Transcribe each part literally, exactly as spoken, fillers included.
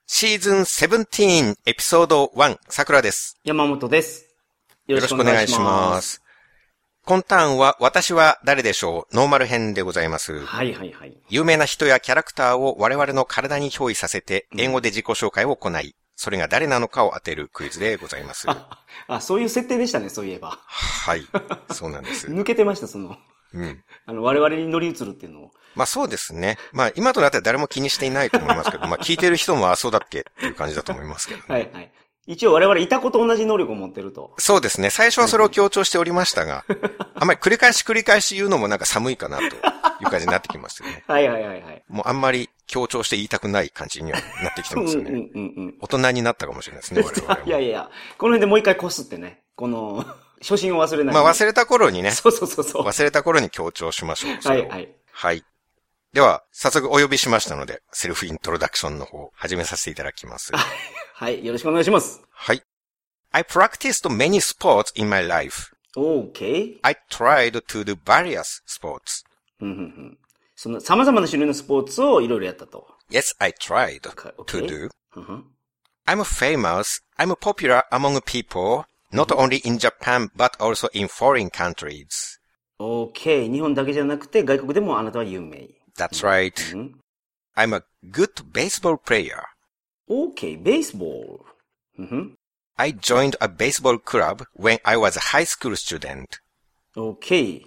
シーズンセブンティーンエピソードワン、さくらです。 山本です。 よろしくお願いします。今ターンは私は誰でしょうノーマル編でございます。 はいはいはい。 有名な人やキャラクターを我々の体に憑依させて、英語で自己紹介を行い、うん、それが誰なのかを当てるクイズでございます。 あ, あ、そういう設定でしたね、そういえば。 はい、そうなんです。 抜けてました、その。うん。あの、我々に乗り移るっていうのを。 まあそうですね。まあ今となっては誰も気にしていないと思いますけど、まあ聞いてる人もあ、そうだっけっていう感じだと思いますけど、ね。 はいはい。一応我々いた子と同じ能力を持ってると。 そうですね。最初はそれを強調しておりましたが、あんまり繰り返し繰り返し言うのもなんか寒いかなという感じになってきますよね。 はいはいはいはい。 もうあんまり強調して言いたくない感じにはなってきてますよね。うんうんうんうん、大人になったかもしれないですね、我々も。 いやいやいや、この辺でもう一回こすってね、この、初心を忘れない、ね。 まあ忘れた頃にね。 そうそうそうそう。 忘れた頃に強調しましょう。 はいはい。 はい。では、早速お呼びしましたので、セルフイントロダクションの方、始めさせていただきます。 はい、よろしくお願いします。 はい。I practiced many sports in my life. Okay. I tried to do various sports. うんうんうん。その様々な種類のスポーツをいろいろやったと。 Yes, I tried okay. to do. Uh-huh. I'm famous. I'm popular among people, not only in Japan, but also in foreign countries. Okay. 日本だけじゃなくて外国でもあなたは有名。 That's right. Mm-hmm. I'm a good baseball player. Okay, baseball. Mm-hmm. I joined a baseball club when I was a high school student. Okay.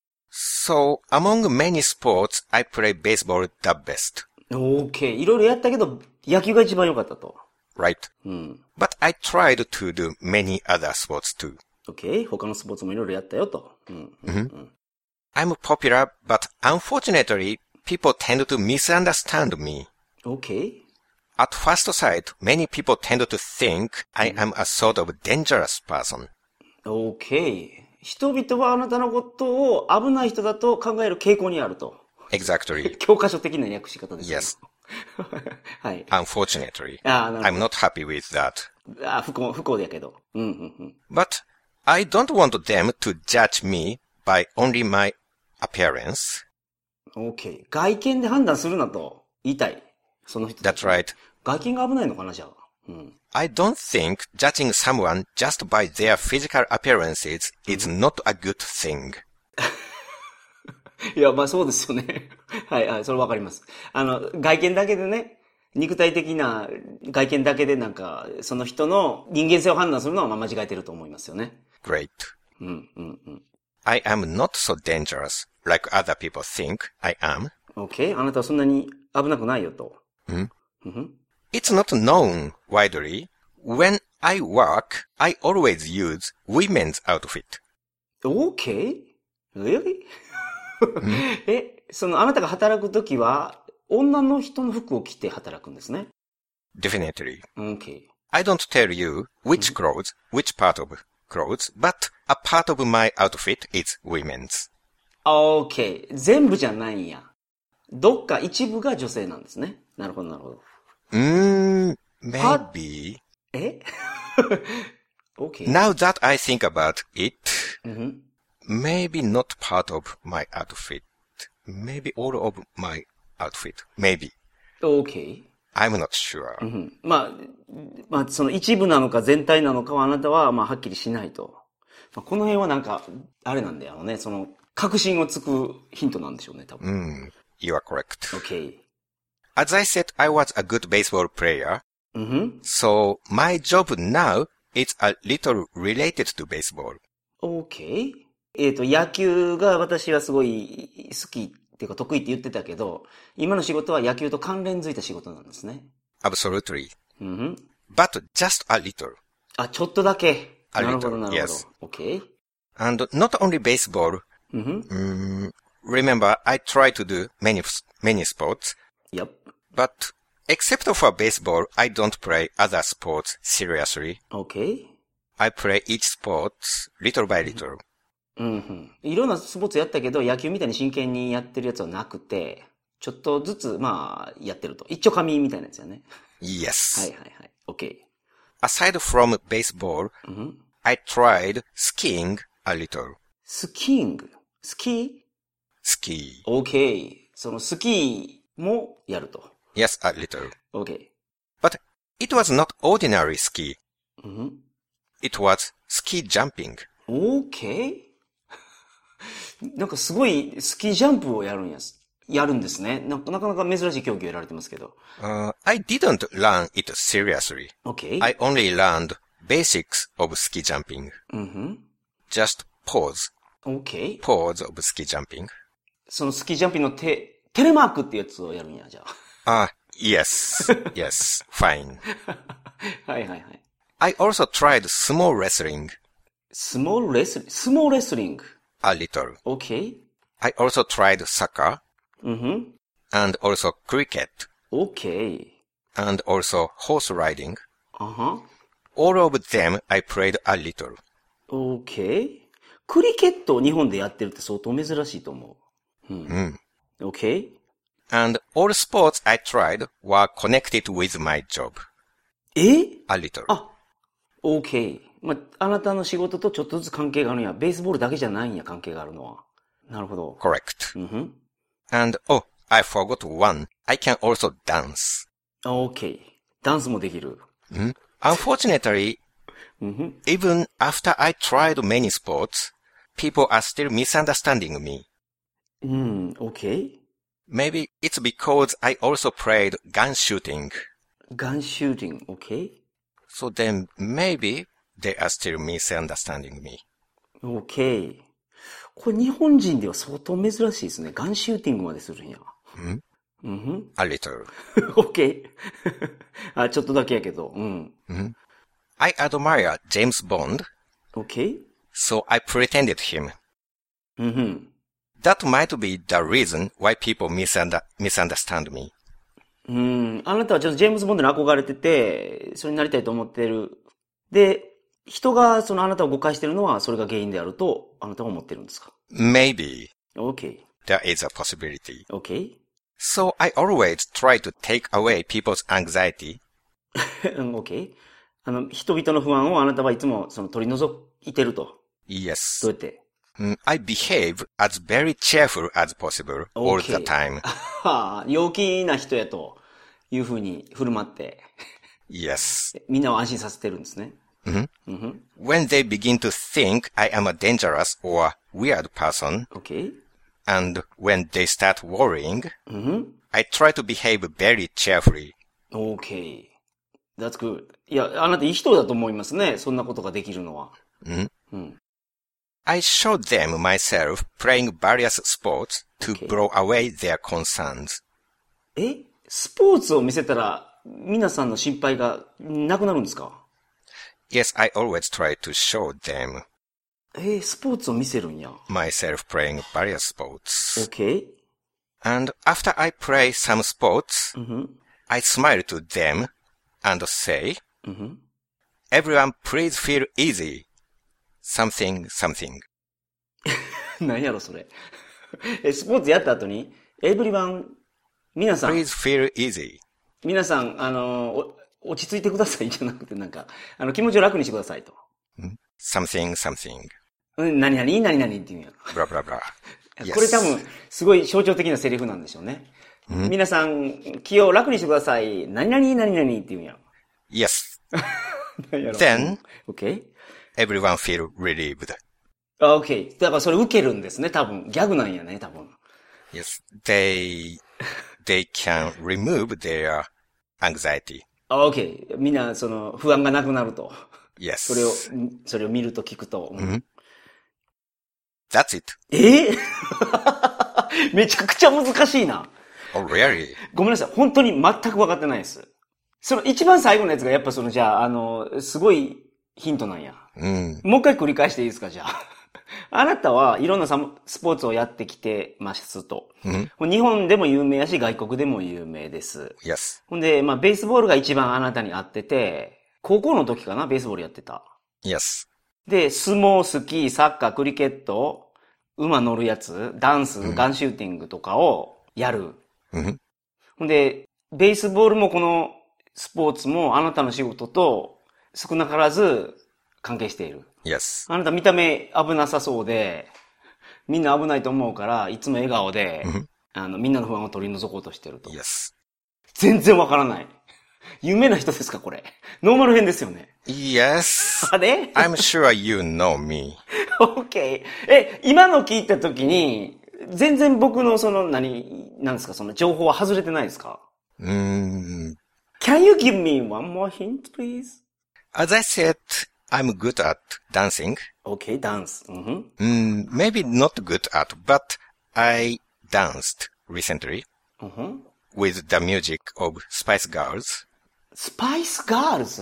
So, among many sports, I play baseball the best. Okay. いろいろやったけど、野球が一番良かったと。 Right. うん。 But I tried to do many other sports too. Okay. 他のスポーツもいろいろやったよと。うん。うんうん、 I'm popular, but unfortunately, people tend to misunderstand me. Okay. At first sight, many people tend to think I am a sort of dangerous person. Okay. 人々はあなたのことを危ない人だと考える傾向にあると。 Exactly. 教科書的な訳し方ですね。 Yes. はい。 Unfortunately, あ、なるほど。 I'm not happy with that. あ、不幸、不幸だけど。うんうんうん。 But I don't want them to judge me by only my appearance. Okay. 外見で判断するなと言いたい。その人。 That's right. 外見が危ないのかな、じゃあ。うん。 I don't think judging someone just by their physical appearances is not a good thing. いや、まあそうですよね。はい、はい、それわかります。あの、外見だけでね、肉体的な外見だけでなんか、その人の人間性を判断するのは間違えてると思いますよね。 Great. うんうんうん。 I am not so dangerous like other people think I am. Okay. あなたはそんなに危なくないよと。 Mm? Mm-hmm. It's not known widely. When I work, I always use women's outfit. Okay? Really? え、そのあなたが働くときは女の人の服を着て働くんですね。 Definitely. Okay. I don't tell you which clothes, which part of clothes, but a part of my outfit is women's. Okay. 全部じゃないんや。どっか一部が女性なんですね。なるほど、なるほど。 うーん、maybe. えokay. Now that I think about it, mm-hmm. maybe not part of my outfit. Maybe all of my outfit. Maybe. Okay. I'm not sure. うん、まあ、まあ、その一部なのか全体なのかはあなたは、まあ、はっきりしないと。まあ、この辺はなんか、あれなんだよね。その、確信をつくヒントなんでしょうね、多分。 Mm, you are correct. Okay. As I said, I was a good baseball player. Mm-hmm. So, my job now is a little related to baseball. Okay. えっと、野球が私はすごい好きっていうか得意って言ってたけど、今の仕事は野球と関連づいた仕事なんですね。 Absolutely. Mm-hmm. But just a little. あ、ちょっとだけ。 A little, なるほど、なるほど。 yes. Okay. And not only baseball. Mm-hmm. Um, remember, I try to do many, many sports. Yep. But except for baseball, I don't play other sports seriously. Okay. I play each sport little by little. うんうん。いろんなスポーツやったけど、野球みたいに真剣にやってるやつはなくて、ちょっとずつ、まあ、やってると。一丁紙みたいなやつやね。 Yes. はいはいはい。OK. Aside from baseball, mm-hmm. I tried skiing a little. スキーングスキー Ski. OK. そのスキーもやると。 Yes, a little. OK. But It was not ordinary ski. うん。 It was ski jumping. OK? なんかすごいスキージャンプをやるんやす。やるんですね。な, なかなか珍しい競技をやられてますけど。 Uh, I didn't learn it seriously. OK? I only learned basics of ski jumping. うんふん。 Just pause. OK? Pause of ski jumping. そのスキージャンピングのテ、テレマークってやつをやるんや、じゃあ。Ah, yes. Yes. Fine. はいはいはい。 I also tried sumo wrestling. スモールレスリング、スモーレスリング。 A little. OK? I also tried soccer. うんふん。 And also cricket. OK? And also horse riding. あは。 All of them I played a little. OK? クリケットを日本でやってるって相当珍しいと思う。うん。 Mm. OK? And all sports I tried were connected with my job. え A little. あ、OK。まあ、あなたの仕事とちょっとずつ関係があるんや。ベースボールだけじゃないんや、関係があるのは。なるほど。 Correct. うんふん。 And, oh, I forgot one. I can also dance. OK. ダンスもできる。 Mm. Unfortunately, うんふん。 even after I tried many sports, people are still misunderstanding me. うん、OK? Maybe it's because I also played gun shooting. ガンシューティング、OK? So then maybe they are still misunderstanding me. OK. これ日本人では相当珍しいですね。ガンシューティングまでするんや。 Mm? うんふん。 A little. OK? あ、ちょっとだけやけど。うん。 Mm? I admire James Bond, OK? so I pretended him. うんふん。 That might be the reason why people misunder- misunderstand me. うん。あなたはちょっとジェームズ・ボンドに憧れてて、それになりたいと思ってる。で、人がそのあなたを誤解してるのはそれが原因であるとあなたは思ってるんですか？ Maybe OK. there is a possibility. OK? So I always try to take away people's anxiety. うん OK? あの、人々の不安をあなたはいつもその取り除いてると。 Yes. どうやって？ Mm, I behave as very cheerful as possible all the time. はあ、陽気な人やというふうに振る舞って、 Yes. みんなを安心させてるんですね。 Mhm. うんふん。 When they begin to think I am a dangerous or weird person, OK? and when they start worrying, うんふん。 I try to behave very cheerfully. OK. That's good. いや、あなたいい人だと思いますね。そんなことができるのは。 Mhm. うん。 I showed them myself playing various sports to Okay. blow away their concerns. え？スポーツを見せたら、皆さんの心配がなくなるんですか？ Yes, I always try to show them えー、スポーツを見せるんや。 myself playing various sports. OK? And after I play some sports, うんふん。 I smile to them and say, うんふん。 everyone please feel easy. Something, something. 何やろそれ。え、スポーツやった後に、エブリワン、皆さん、 Please feel easy. 皆さん、あの、お落ち着いてくださいじゃなくて、なんか、あの、気持ちを楽にしてくださいと。 Something, something. うん、何々、何々って言うんや。 Blah, blah, blah. これ多分、すごい象徴的なセリフなんでしょうね。皆さん、気を楽にしてください。何々、何々って言うんや。 Yes. 何やろ Then, OK? everyone feel relieved. あ OK. だからそれ受けるんですね、多分。ギャグなんやね、多分。 Yes, they, they can remove their anxiety. あ OK. みんな、その、不安がなくなると。 Yes. それを、それを見ると聞くと。うん That's it. えー、めちゃくちゃ難しいな。 Oh, really? ごめんなさい。本当に全く分かってないです。その一番最後のやつがやっぱその、じゃあ、あの、すごいヒントなんや。 Mm. もう一回繰り返していいですか、じゃあ。あなたはいろんなサスポーツをやってきてますと。 Mm. 日本でも有名やし、外国でも有名です。 Yes. ほんで、まあ、ベースボールが一番あなたに合ってて、高校の時かな、ベースボールやってた。 Yes. で、相撲、スキー、サッカー、クリケット、馬乗るやつ、ダンス、ガンシューティングとかをやる。 Mm-hmm. ほんで、ベースボールもこのスポーツもあなたの仕事と少なからず関係している。 Yes. あなた見た目危なさそうで、みんな危ないと思うから、いつも笑顔で、 Mm-hmm. あの、みんなの不安を取り除こうとしてると。 Yes. 全然わからない。 有名な人ですか、これ。ノーマル編ですよね。 Yes. あれ I'm sure you know me. ?OK。え、今の聞いたときに、全然僕のその、何、なんですか、その情報は外れてないですか？ うーん。 Can you give me one more hint, please? As I said, I'm good at dancing. OK, dance. Mm-hmm. Mm, maybe not good at, but I danced recently Mm-hmm. with the music of Spice Girls. Spice Girls.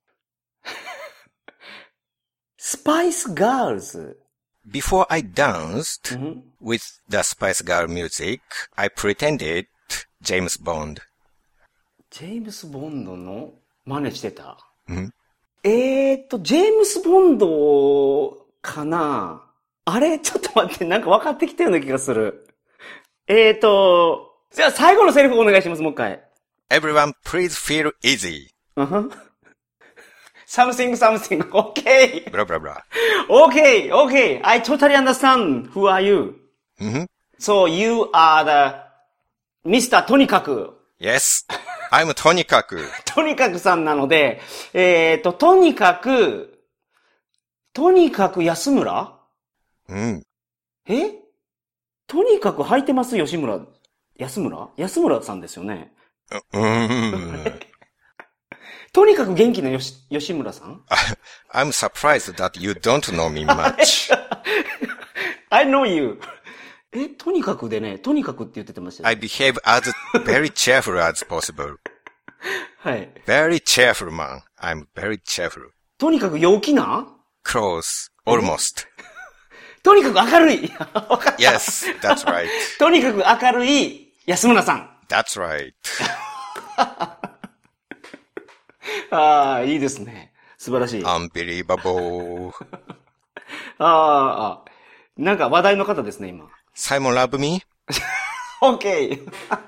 Spice Girls. Before I danced Mm-hmm. with the Spice Girl music, I pretended James Bond. ジェームス・ボンドの真似してた。 うんえーっと、ジェームス・ボンドかな？あれちょっと待って、なんか分かってきたような気がする。えーっと、じゃあ最後のセリフお願いします、もう一回。 Everyone please feel easy. Uh-huh. Something, something. Okay. Blah, blah, blah. Okay, okay. I totally understand. Who are you? Mm-hmm. So you are the Mister とにかく。 Yes. I'm とにかく。 とにかくさんなので、えーっと、とにかく、とにかく安村？ うん。 え？とにかく履いてます吉村。安村？安村さんですよね。 うーん。 とにかく元気なよし吉村さん？ I'm surprised that you don't know me much. I know you. え、とにかくでね、とにかくって言ってましたよ。 I behave as very cheerful as possible. はい。 Very cheerful man. I'm very cheerful. とにかく陽気な？ Close. Almost. とにかく明るい。 Yes, that's right. とにかく明るい安村さん。 That's right. ああ、いいですね。素晴らしい。あ Unbelievable. あ、なんか話題の方ですね、今。 Simon love me? OK!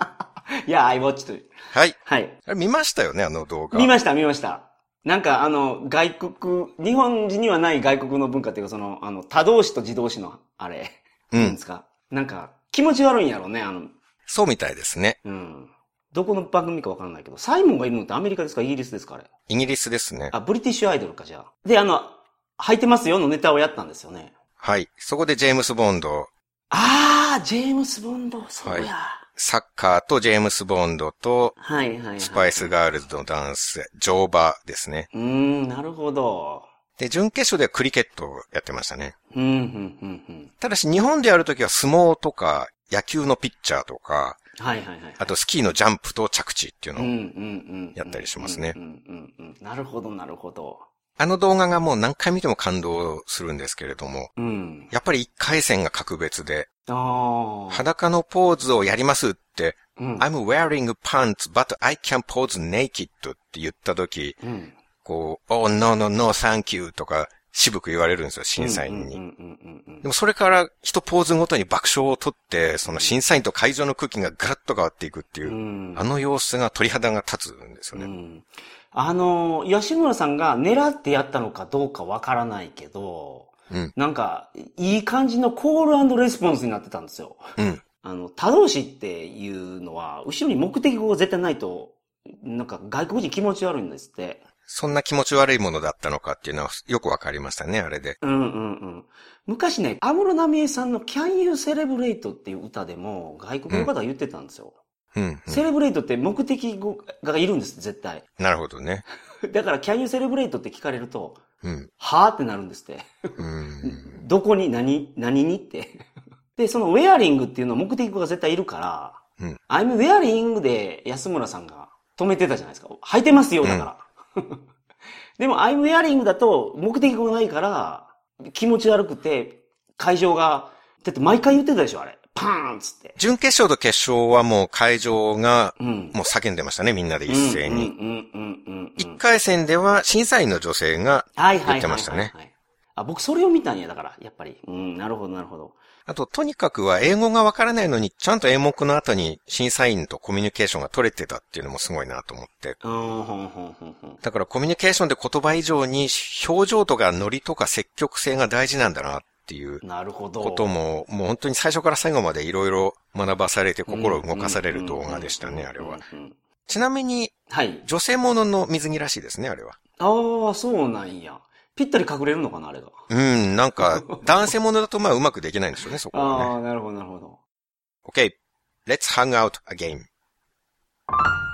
Yeah, I watched it. はい。 はい。 あれ見ましたよね、あの動画。 見ました、見ました。なんかあの、外国、日本人にはない外国の文化っていうか、その、あの、他動詞と自動詞の、あれ、 うん。 なんですか。なんか、気持ち悪いんやろうね、あの。 そうみたいですね。 うん。どこの番組かわかんないけど、サイモンがいるのってアメリカですかイギリスですかあれ。 イギリスですね。 あ、ブリティッシュアイドルか、じゃあ。で、あの、履いてますよのネタをやったんですよね。 はい。そこでジェームス・ボンド。 あー、ジェームス・ボンド、そうや。はい、 サッカーとジェームス・ボンドと、 はいはいはい。 スパイスガールズのダンス、乗馬ですね。 うーん、なるほど。 で、準決勝ではクリケットをやってましたね。 うん、うん、うん、うん。 ただし日本でやるときは相撲とか、野球のピッチャーとか、 はいはいはい、はい。 あとスキーのジャンプと着地っていうのをやったりしますね。 なるほどなるほど。 あの動画がもう何回見ても感動するんですけれども、 うん、やっぱり一回戦が格別で、 あ裸のポーズをやりますって、 うん、 I'm wearing pants, but I can pose naked って言ったとき、うん、こう、Oh, no, no, no, thank you とか渋く言われるんですよ、審査員に。でもそれから一ポーズごとに爆笑を取って、その審査員と会場の空気がガラッと変わっていくっていう、うん、あの様子が鳥肌が立つんですよね。うん、 あの、吉村さんが狙ってやったのかどうかわからないけど、うん、なんか、いい感じのコール&レスポンスになってたんですよ。うん、あの、他動詞っていうのは、後ろに目的語が絶対ないと、なんか外国人気持ち悪いんですって。 そんな気持ち悪いものだったのかっていうのはよくわかりましたね、あれで。 うんうんうん。昔ね、安室奈美恵さんの Can You Celebrate っていう歌でも外国の方が言ってたんですよ。うんうんうん、セレブレイトって目的語がいるんです、絶対。 なるほどね。 だから Can You Celebrate って聞かれると、うん、はぁってなるんですって。うんどこに何何にって。で、その wearing っていうのは目的語が絶対いるから、うん、I'm wearing で安村さんが止めてたじゃないですか。履いてますよ、だから。うん、でも I'm wearing だと目的語がないから気持ち悪くて会場が、だって毎回言ってたでしょ、あれ。パーンつって。 準決勝と決勝はもう会場がもう叫んでましたね、みんなで一斉に。一回戦では審査員の女性が言ってましたね。 あ、僕それを見たんや、だから、やっぱり。うん、なるほど、なるほど。 あと、とにかくは英語がわからないのに、ちゃんと演目の後に審査員とコミュニケーションが取れてたっていうのもすごいなと思って。だからコミュニケーションで言葉以上に表情とかノリとか積極性が大事なんだなっていうことも、もう本当に最初から最後までいろいろ学ばされて心を動かされる動画でしたね、あれは。 ちなみに、はい。女性ものの水着らしいですね、あれは。 ああ、そうなんや。ぴったり隠れるのかな、あれが。 うん、なんか、男性ものだとまあうまくできないんでしょうね、そこはね。 ああ、なるほど、なるほど。 Okay, let's hang out again.